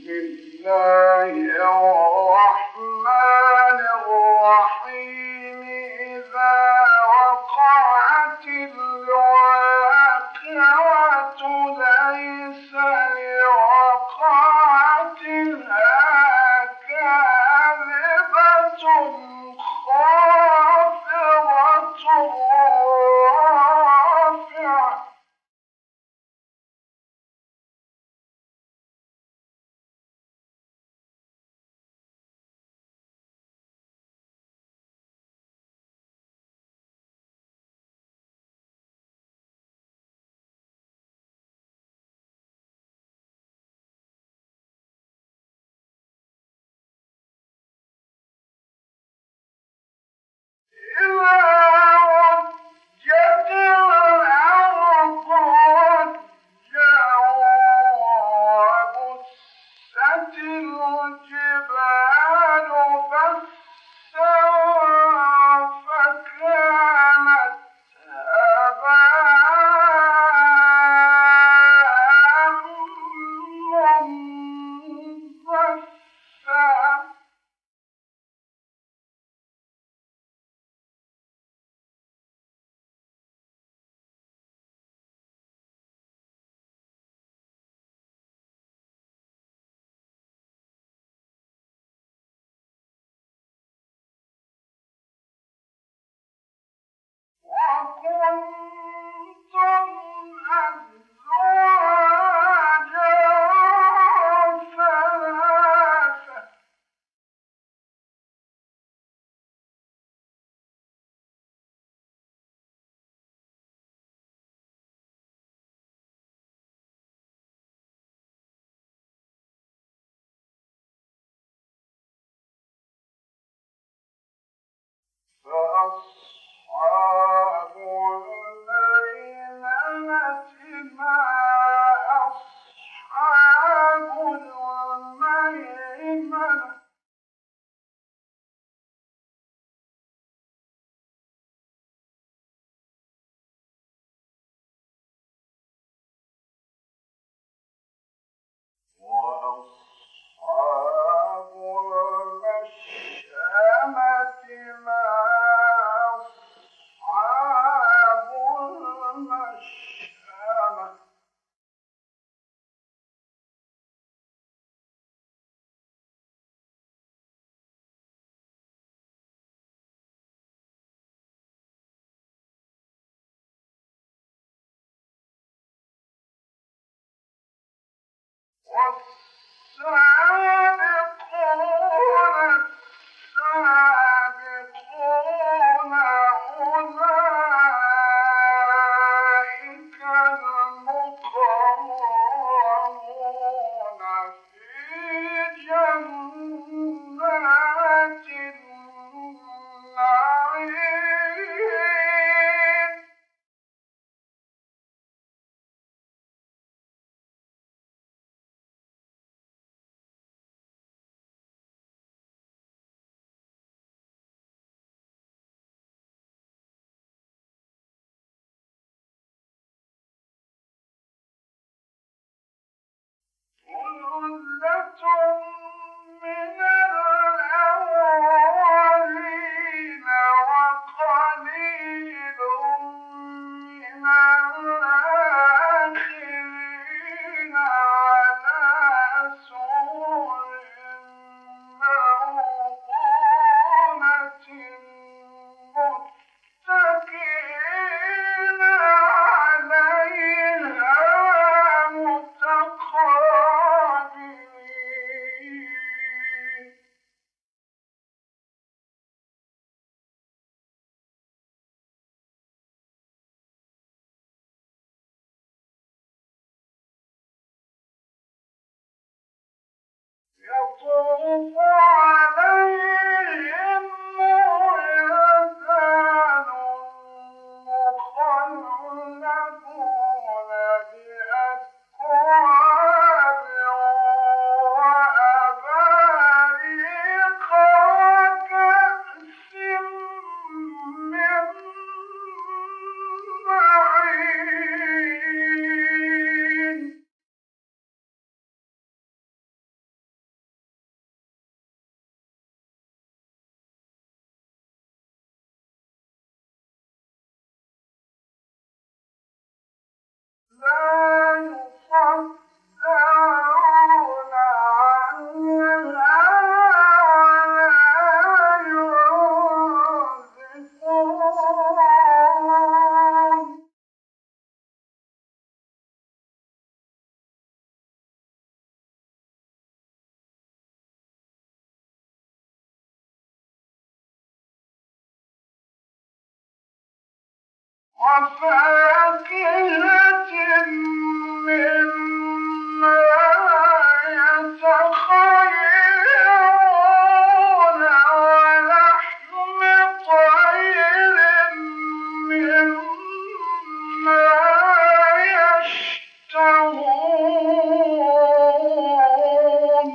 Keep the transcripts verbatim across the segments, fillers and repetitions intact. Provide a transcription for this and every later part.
الله الرحمن الرحيم إذا وقعت الواقعة ليس لوقعتها كاذبة خافضة رافعة وكنتم أزواجا ثلاثة فأصحاب الميمنة ما أصحاب الميمنة وأصحاب المشأمة ما أصحاب المشأمة والسابقون السابقون أولئك المقربون في جنات النعيم ثلة من الأولين وقليل من الآخرين على سرر موضونة متكئين عليها متقابلين يطوف عليهم ولدان مخلدون بأكواب وأباريق وكأس من معين وفاكهة مما يتخيرون ولحم طير مما يشتهون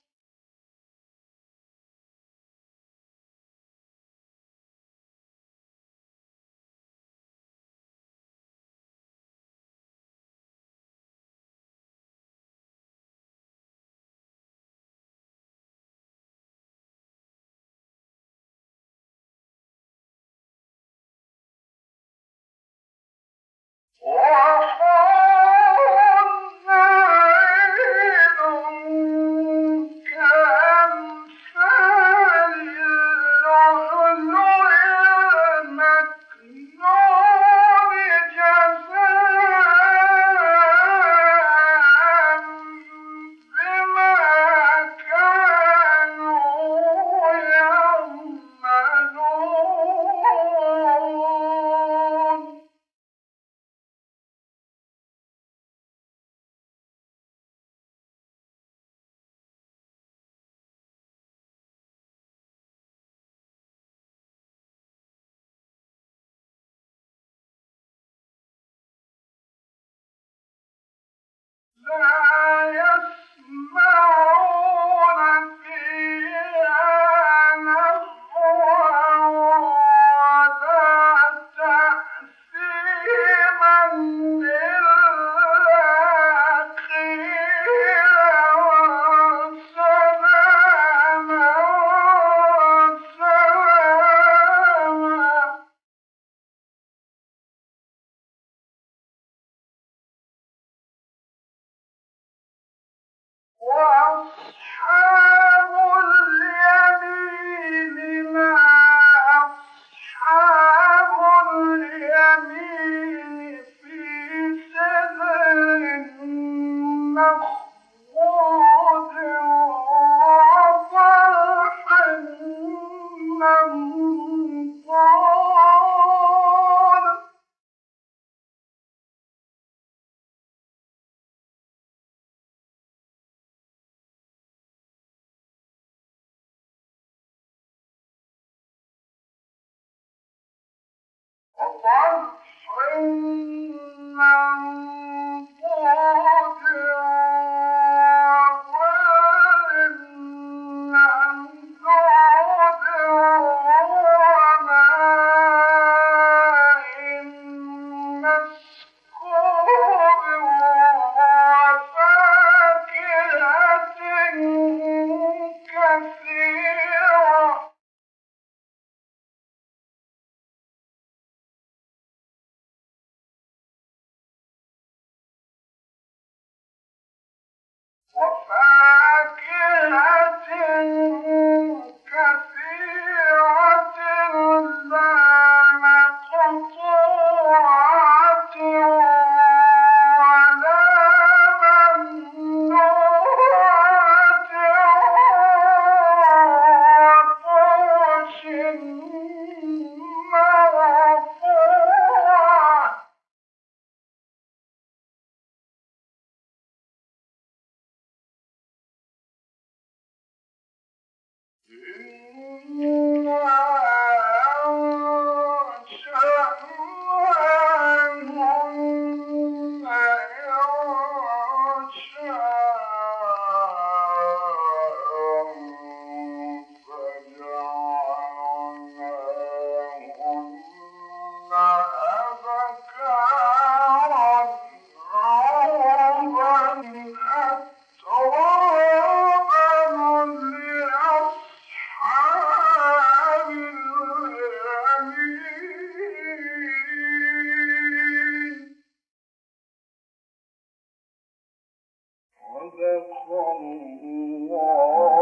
لا يسمعون فيها لغوا ولا تأثيما إلا قيلا سلاما سلاما وأصحاب اليمين ما أصحاب اليمين في سدر مخضود وطلح منضود وطلح منضود وظل ممدود وماء مسكوب وفاكهة كثيرة وفاكهة كثيرة لا مقطوعة ولا ممنوعة وفرش مرفوعة إنا أنشأناهن إنشاء فجعلناهن أبكارا عربا أترابا لأصحاب اليمين صدق الله